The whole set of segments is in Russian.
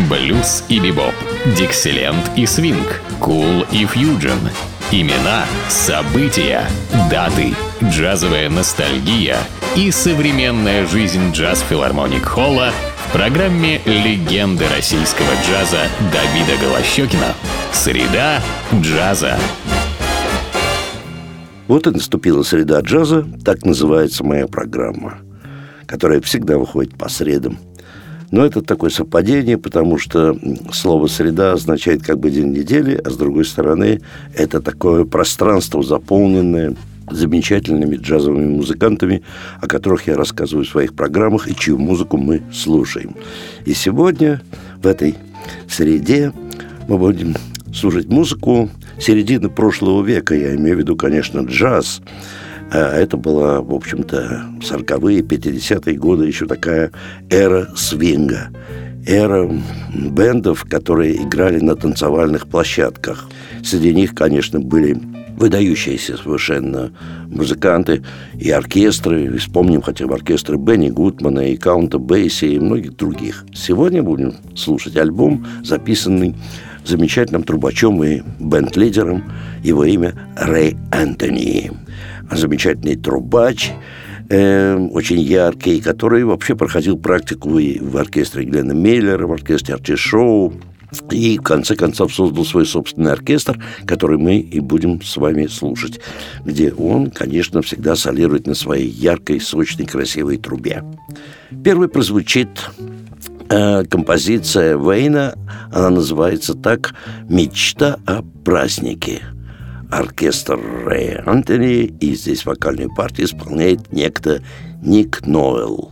Блюз и бибоп, диксиленд и свинг, кул и фьюджен. Имена, события, даты, джазовая ностальгия и современная жизнь джаз-филармоник Холла в программе «Легенды российского джаза» Давида Голощёкина. Среда джаза. Вот и наступила среда джаза, так называется моя программа, которая всегда выходит по средам. Но это такое совпадение, потому что слово «среда» означает как бы день недели, а с другой стороны, это такое пространство, заполненное замечательными джазовыми музыкантами, о которых я рассказываю в своих программах и чью музыку мы слушаем. И сегодня в этой среде мы будем слушать музыку середины прошлого века. Я имею в виду, конечно, джаз. Это была, в общем-то, 40-е, 50-е годы, еще такая эра свинга. Эра бэндов, которые играли на танцевальных площадках. Среди них, конечно, были выдающиеся совершенно музыканты и оркестры. Вспомним хотя бы оркестры Бенни Гудмана и Каунта Бейси и многих других. Сегодня будем слушать альбом, записанный замечательным трубачом и бенд-лидером. Его имя Рэй Энтони. Замечательный трубач, очень яркий, который вообще проходил практику и в оркестре Гленна Миллера, в оркестре Арчи Шоу, и в конце концов создал свой собственный оркестр, который мы и будем с вами слушать, где он, конечно, всегда солирует на своей яркой, сочной, красивой трубе. Первой прозвучит композиция Вейна, она называется так «Мечта о празднике». Оркестр Рэя Энтони, и здесь вокальную партию исполняет некто Ник Ноэл.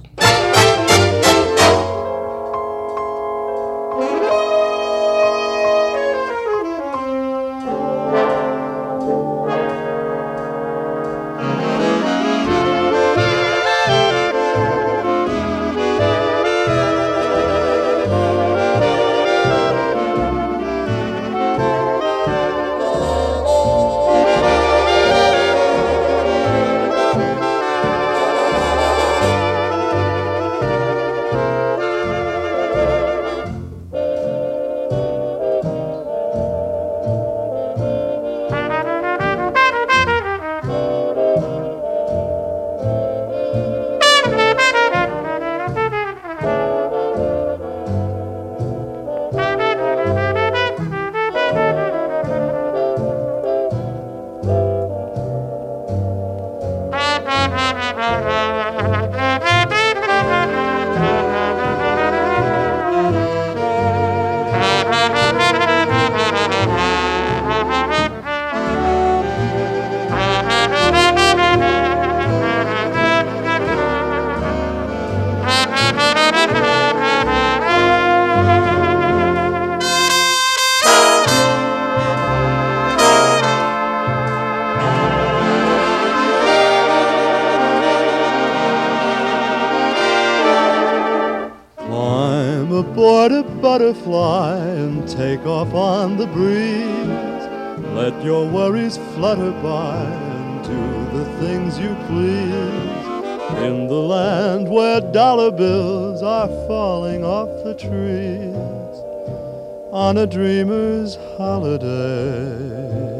Aboard a butterfly and take off on the breeze. Let your worries flutter by and do the things you please. In the land where dollar bills are falling off the trees on a dreamer's holiday.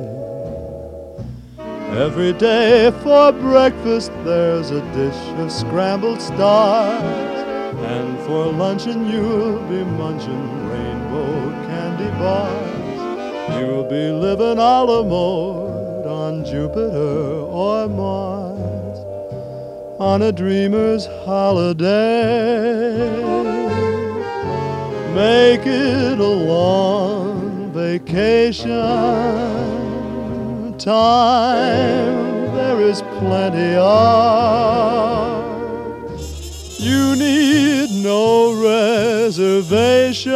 Every day for breakfast there's a dish of scrambled stars. And for luncheon you'll be munching rainbow candy bars. You'll be living a la mode on Jupiter or Mars on a dreamer's holiday. Make it a long vacation. Time there is plenty of. You need no reservation.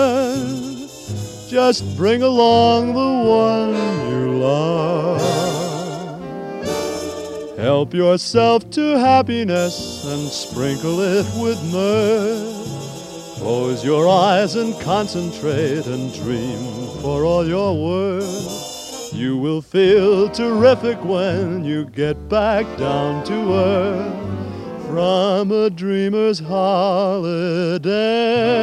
Just bring along the one you love. Help yourself to happiness and sprinkle it with mirth. Close your eyes and concentrate and dream for all you're worth. You will feel terrific when you get back down to earth. from a dreamer's holiday.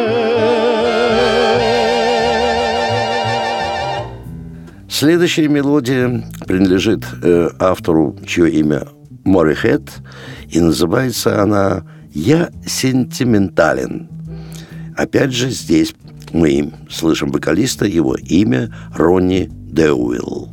Следующая мелодия принадлежит автору, чье имя Морихед, и называется она «Я сентиментален». Опять же, здесь мы слышим вокалиста, его имя Ронни Деуилл.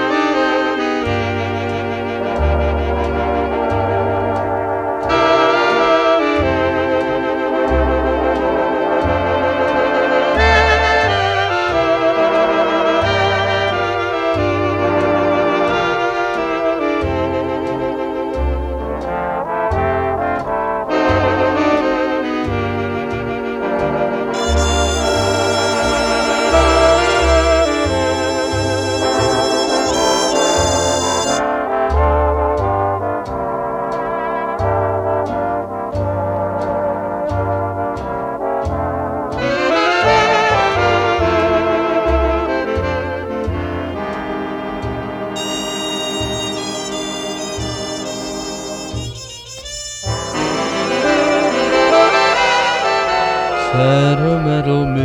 Sentimental me,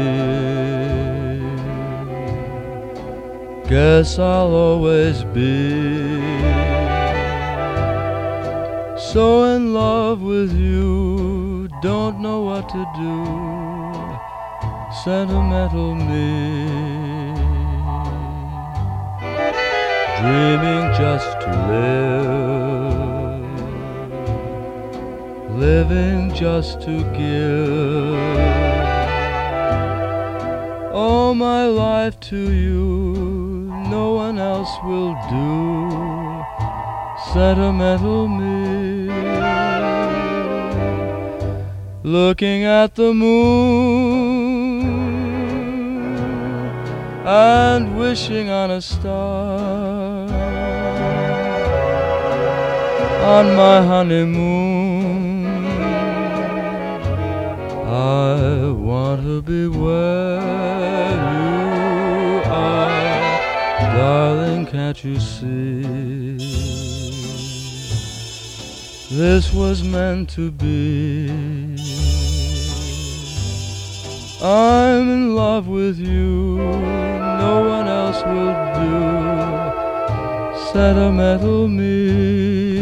guess I'll always be so in love with you, don't know what to do. Sentimental me, dreaming just to live, living just to give all my life to you, no one else will do. Sentimental me, looking at the moon and wishing on a star on my honeymoon. I want to be where you are, darling, can't you see? This was meant to be. I'm in love with you, no one else will do. Sentimental me.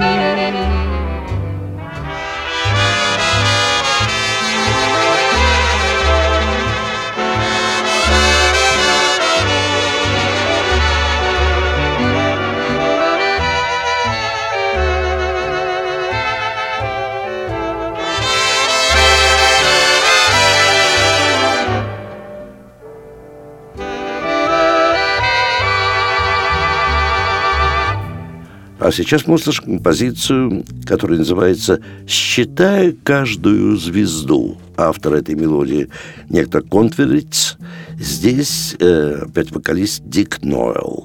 А сейчас мы услышим композицию, которая называется «Считая каждую звезду». Автор этой мелодии некто Конференц. Здесь опять вокалист Дик Нойл.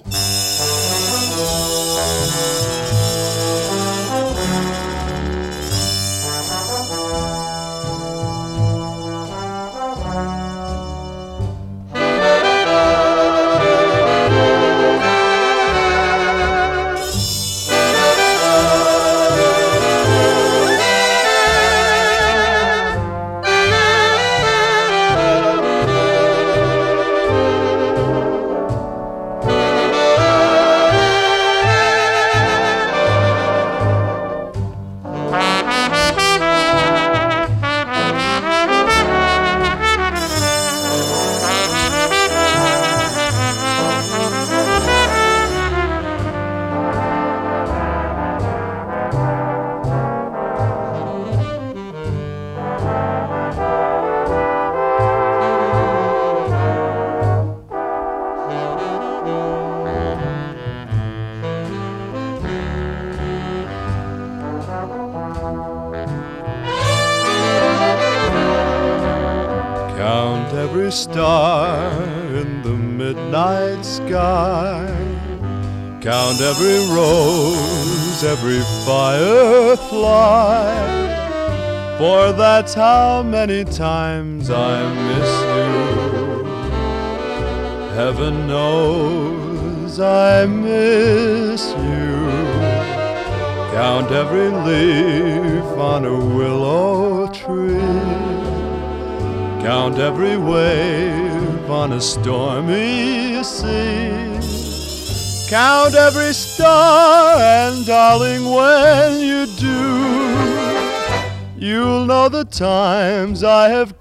Count every star in the midnight sky. Count every rose, every firefly. For that's how many times I miss you. Heaven knows I miss you. Count every leaf on a willow tree. Count every wave on a stormy sea. Count every star, and darling, when you do, you'll know the times I have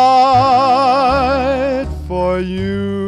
cried for you.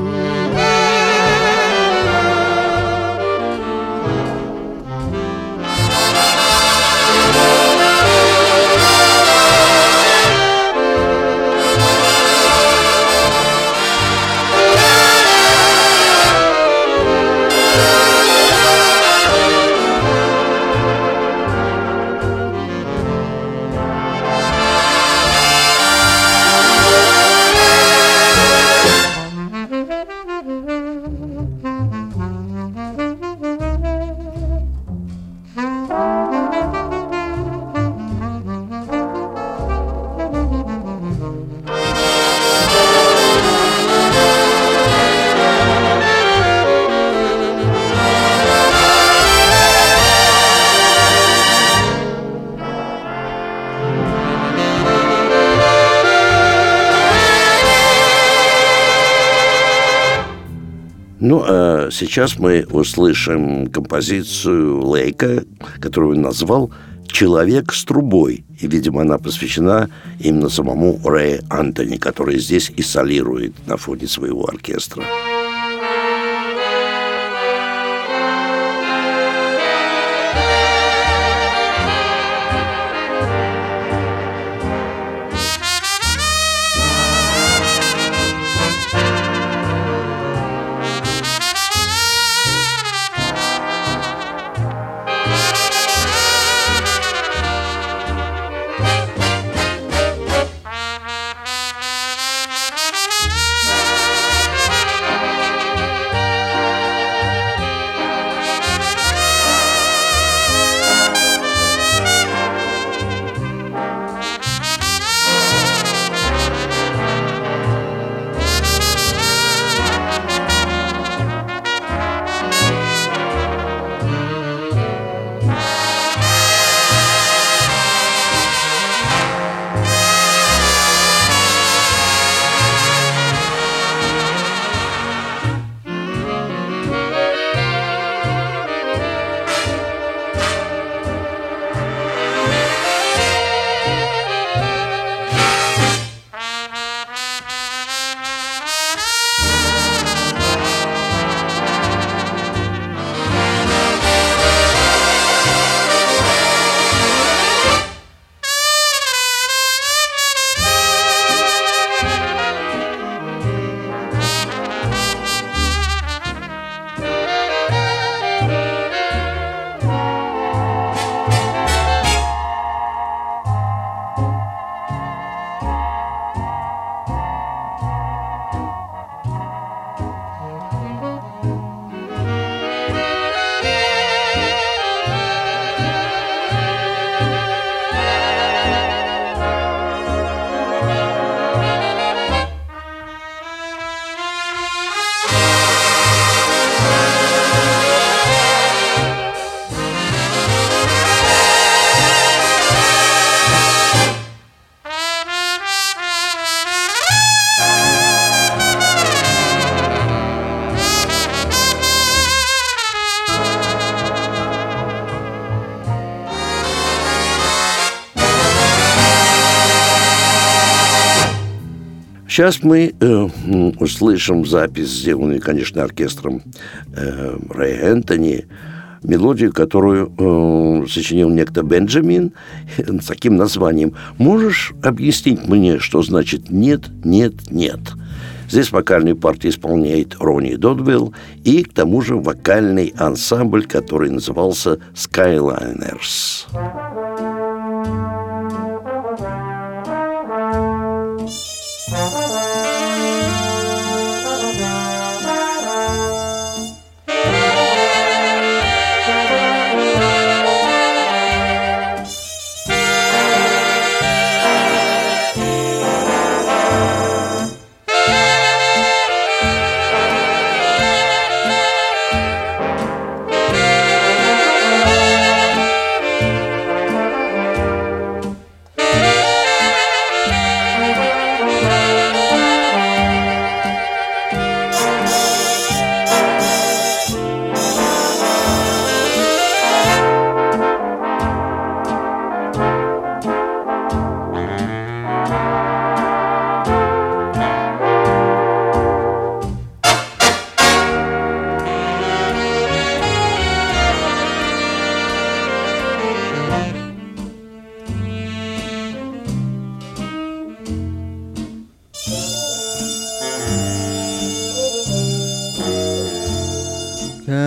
Ну, а сейчас мы услышим композицию Лейка, которую он назвал «Человек с трубой». И, видимо, она посвящена именно самому Рэю Энтони, который здесь и солирует на фоне своего оркестра. Сейчас мы услышим запись, сделанную, конечно, оркестром Рэя Энтони, мелодию, которую сочинил некто Бенджамин с таким названием. Можешь объяснить мне, что значит «нет, нет, нет»? Здесь вокальную партию исполняет Ронни Додвилл и, к тому же, вокальный ансамбль, который назывался «Skyliners».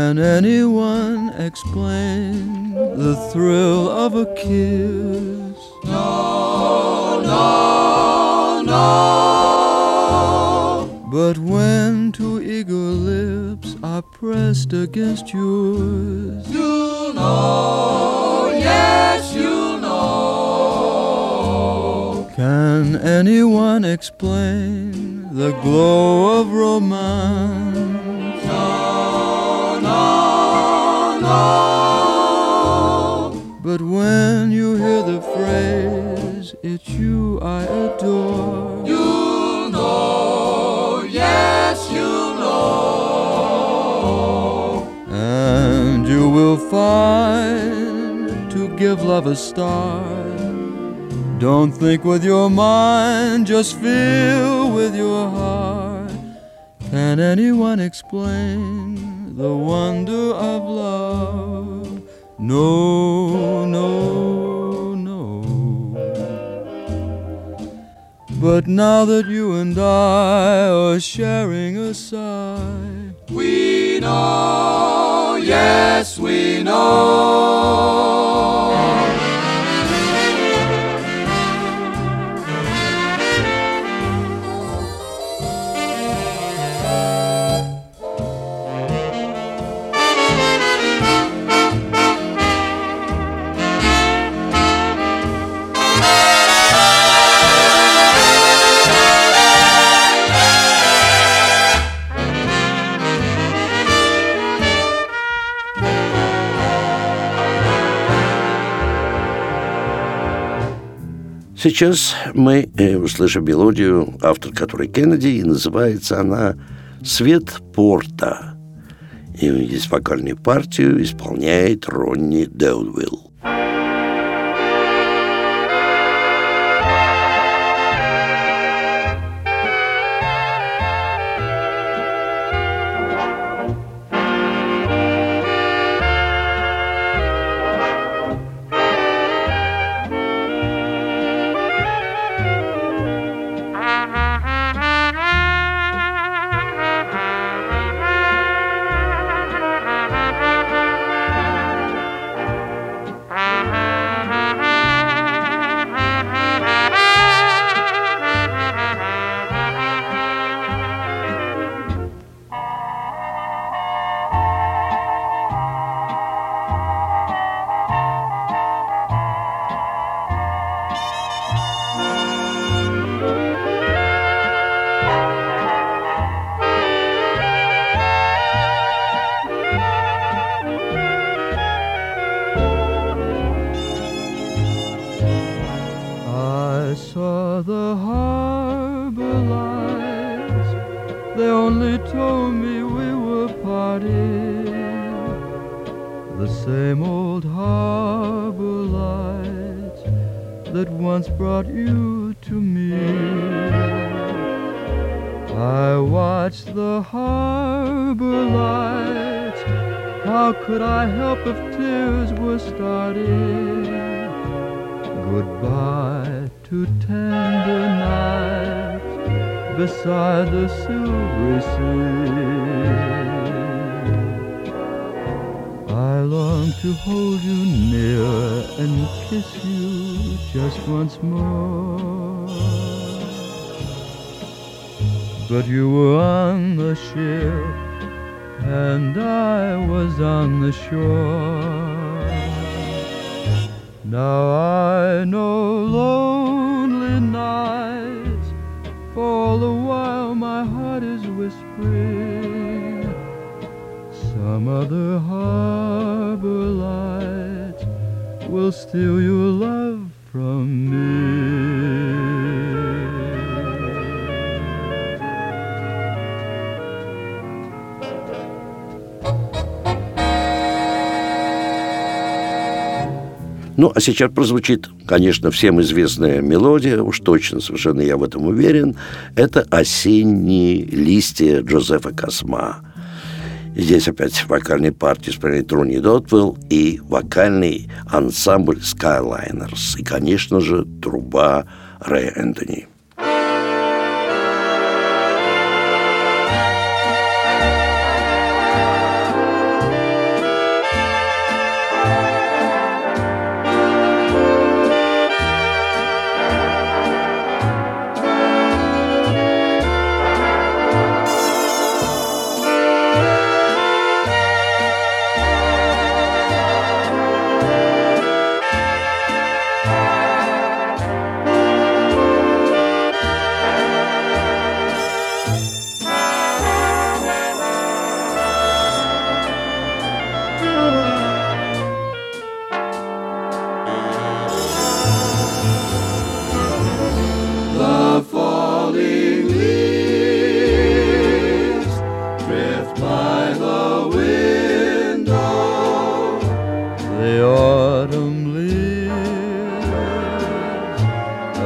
Can anyone explain the thrill of a kiss? No, no, no. But when two eager lips are pressed against yours, you'll know, yes, you'll know. Can anyone explain the glow of romance? But when you hear the phrase, it's you I adore, you'll know, yes, you'll know. And you will find, to give love a start, don't think with your mind, just feel with your heart. Can anyone explain the wonder of love? No, no, no. But now that you and I are sharing a sigh, we know, yes, we know. Сейчас мы услышим мелодию, автор которой Кеннеди, и называется она «Свет порта». И здесь вокальную партию исполняет Ронни Деудвилл. I saw the harbor lights, they only told me we were parting. The same old harbor lights that once brought you to me. I watched the harbor lights, how could I help if tears were starting? Goodbye to tender nights beside the silvery sea. I long to hold you near and kiss you just once more. But you were on the ship and I was on the shore. Now I know lonely nights, for all the while my heart is whispering some other harbor lights will steal your love from me. Ну, а сейчас прозвучит, конечно, всем известная мелодия, уж точно, совершенно я в этом уверен. Это «Осенние листья» Джозефа Косма. И здесь опять вокальные партии исполняет Ронни Деудвилл и вокальный ансамбль Skyliners. И, конечно же, труба Рэя Энтони.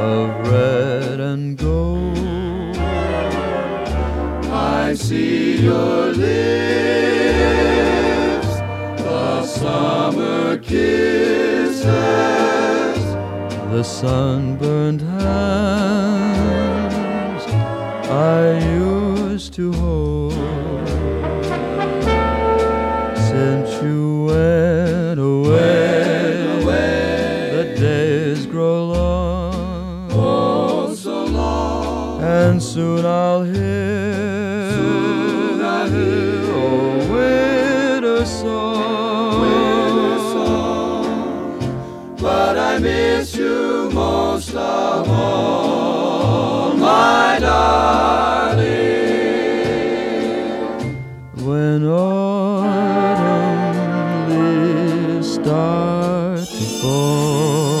of red and gold. I see your lips, the summer kisses, the sunburned hands I used to hold. Since you went away, the days grow long, oh so long, and soon I'll hear a winter song, but I miss you most of all, my darling. When autumn leaves start to fall.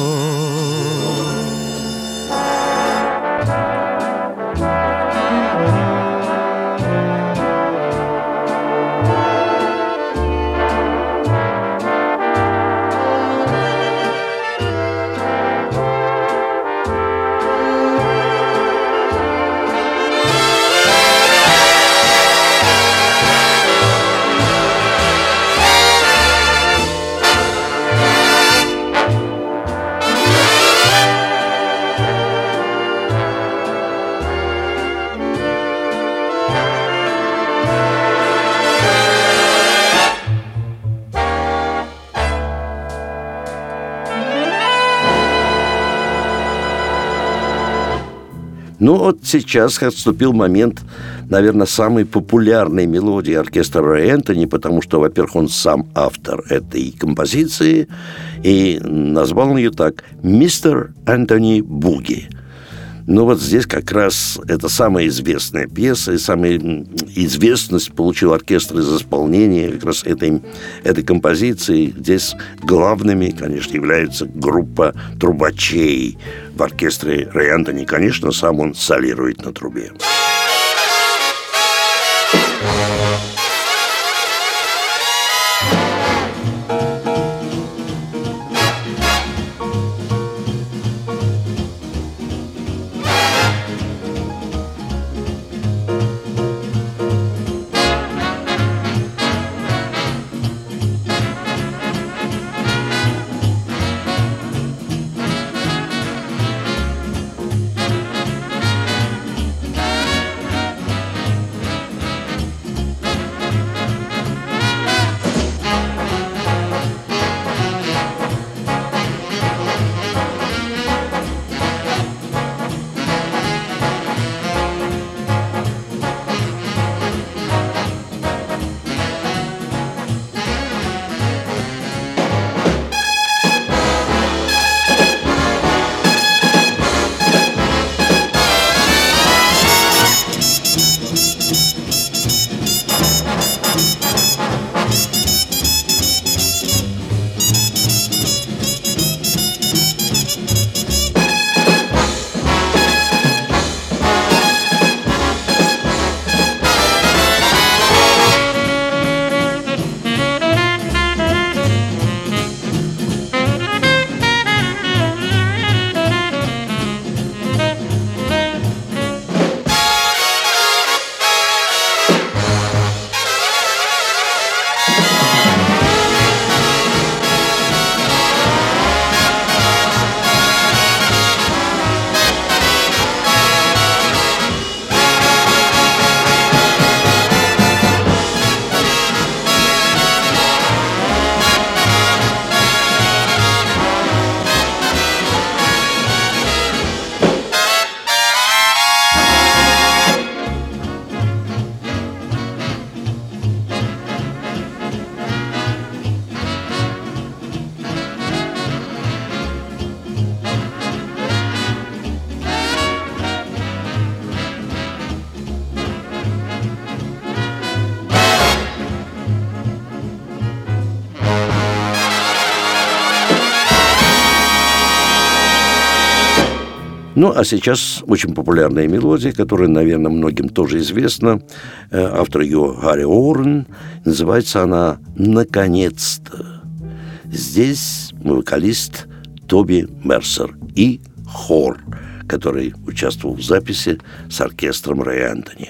Ну вот сейчас отступил момент, наверное, самой популярной мелодии оркестра Рэй Энтони, потому что, во-первых, он сам автор этой композиции, и назвал он ее так «Мистер Энтони Буги». Но вот здесь как раз это самая известная пьеса, и самая известность получил оркестр из исполнения как раз этой композиции. Здесь главными, конечно, является группа трубачей в оркестре Рэй Энтони. Конечно, сам он солирует на трубе. Ну, а сейчас очень популярная мелодия, которая, наверное, многим тоже известна. Автор ее Гарри Орен. Называется она «Наконец-то». Здесь вокалист Тоби Мерсер и хор, который участвовал в записи с оркестром Рэя Энтони.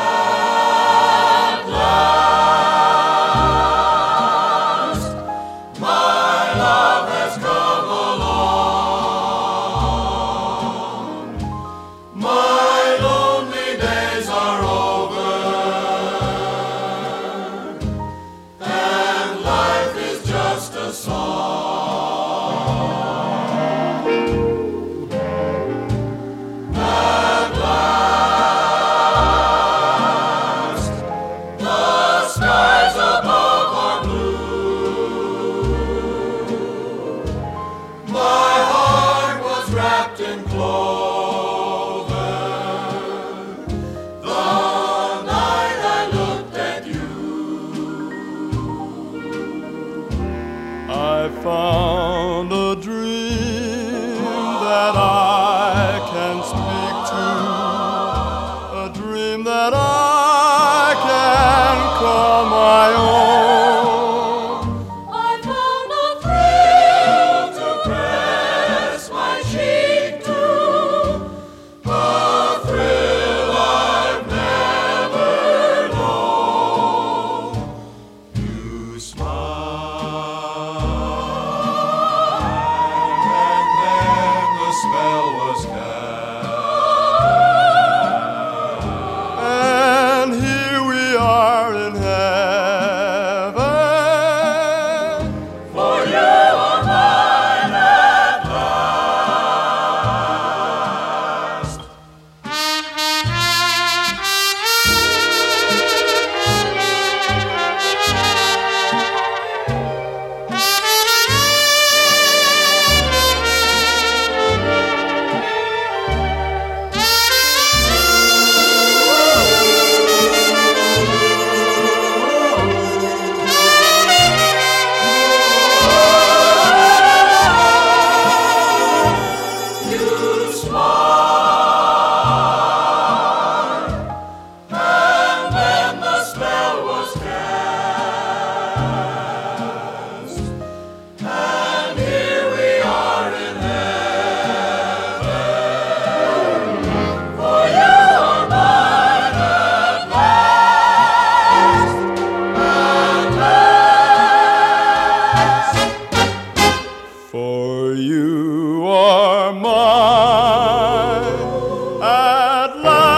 I found a dream that I can speak to, a dream that I can call my own. I found a thrill to press my cheek to, a thrill I've never known. You smile. Spell was cast, and here we are in heaven, for you are mine at last. For you are mine at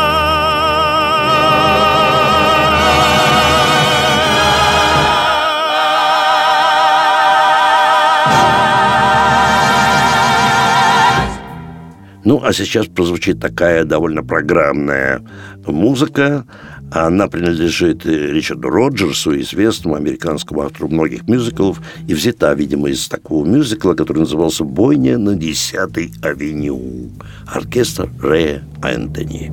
last. Ну, а сейчас прозвучит такая довольно программная музыка. Она принадлежит Ричарду Роджерсу, известному американскому автору многих мюзиклов, и взята, видимо, из такого мюзикла, который назывался «Бойня на 10-й авеню». Оркестр Рэя Энтони.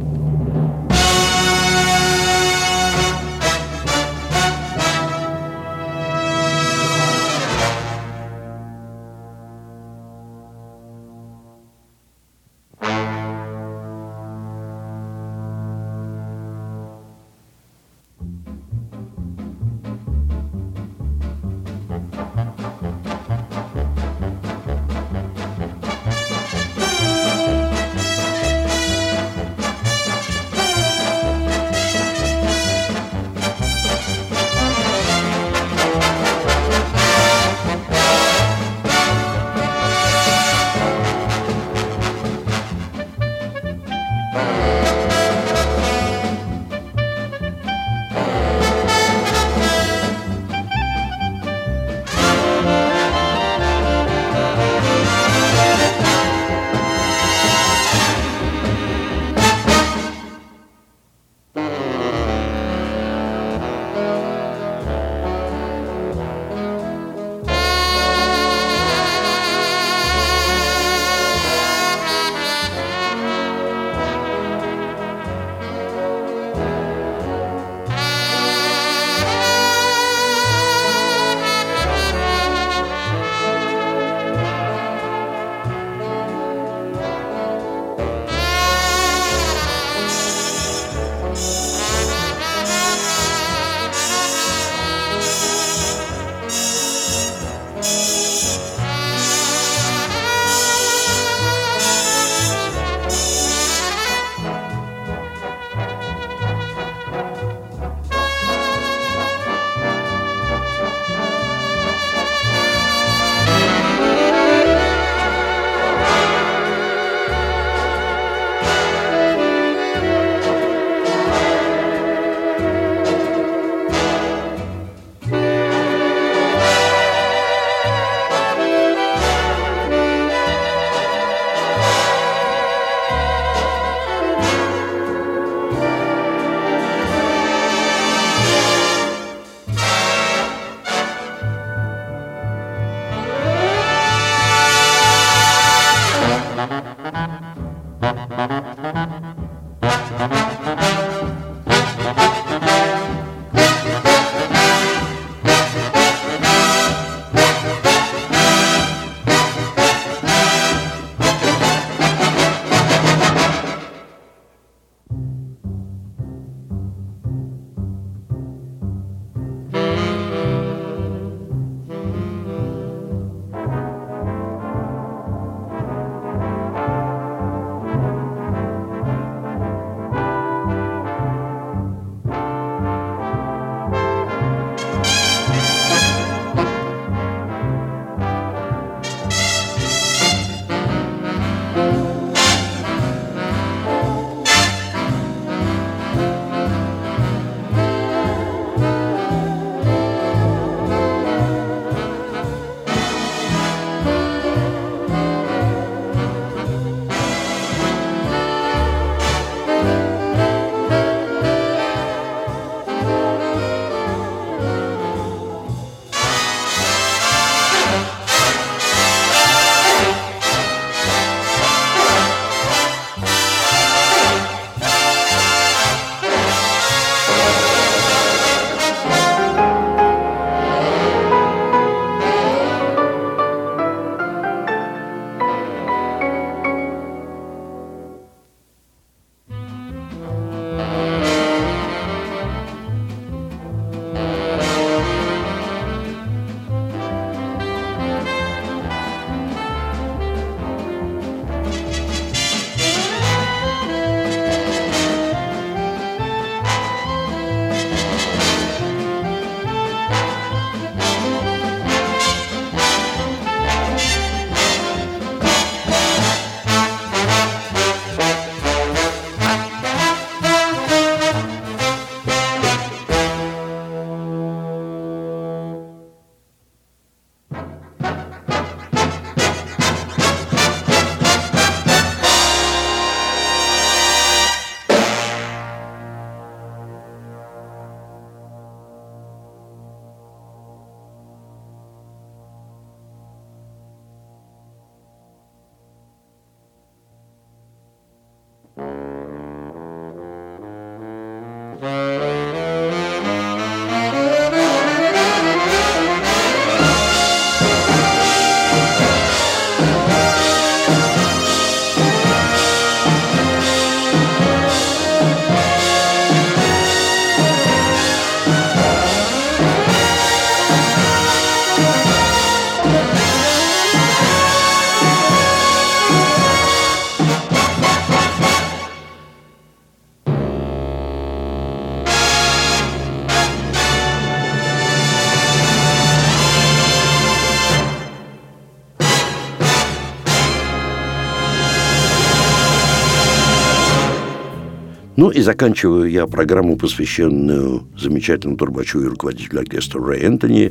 Ну и заканчиваю я программу, посвященную замечательному трубачу и руководителю оркестра Рэй Энтони,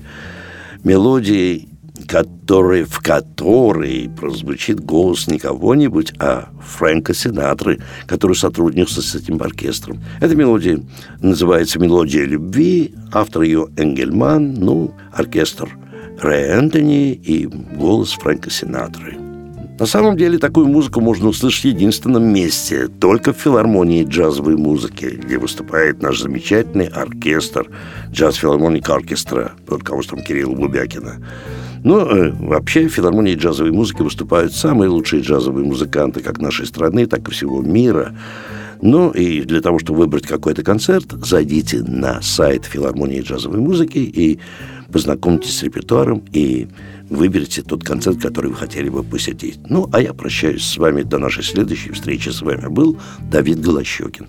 мелодией, в которой прозвучит голос не кого-нибудь, а Фрэнка Синатры, который сотрудничался с этим оркестром. Эта мелодия называется «Мелодия любви», автор ее Энгельман, оркестр Рэй Энтони и голос Фрэнка Синатры. На самом деле такую музыку можно услышать в единственном месте, только в филармонии джазовой музыки, где выступает наш замечательный оркестр джаз-филармоник оркестра под руководством Кирилла Бубякина. Вообще в филармонии джазовой музыки выступают самые лучшие джазовые музыканты как нашей страны, так и всего мира. И для того, чтобы выбрать какой-то концерт, зайдите на сайт филармонии джазовой музыки и познакомьтесь с репертуаром и выберите тот концерт, который вы хотели бы посетить. А я прощаюсь с вами до нашей следующей встречи. С вами был Давид Голощёкин.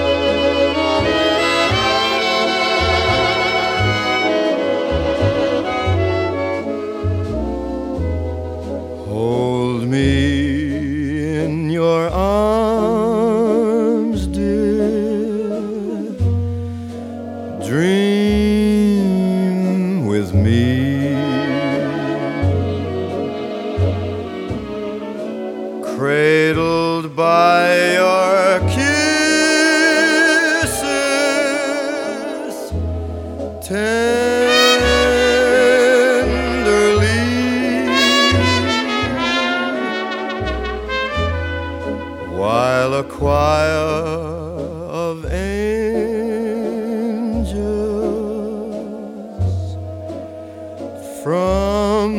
Hold me in your arms, dear. Dream with me. Cradled by your kisses, tenderly, while a choir of angels from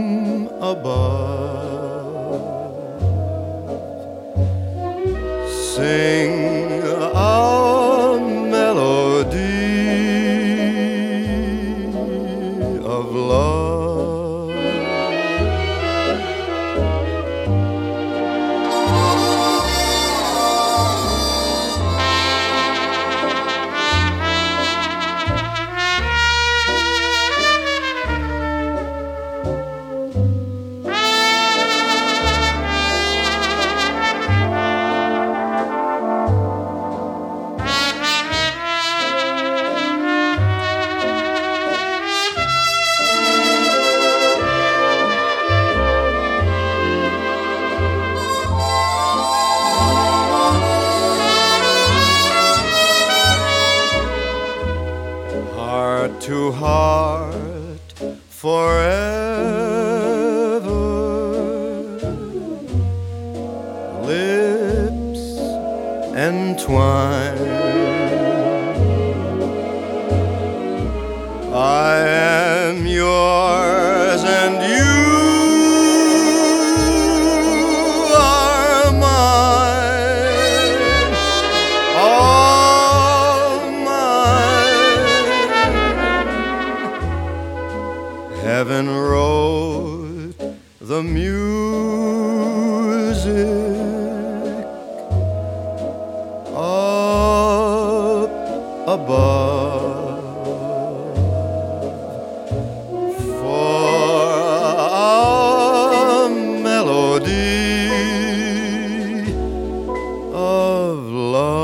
above sing a melody of love. Heart to heart forever, lips entwined. I am yours and you are mine, all mine. Heaven wrote the music up above for our melody of love.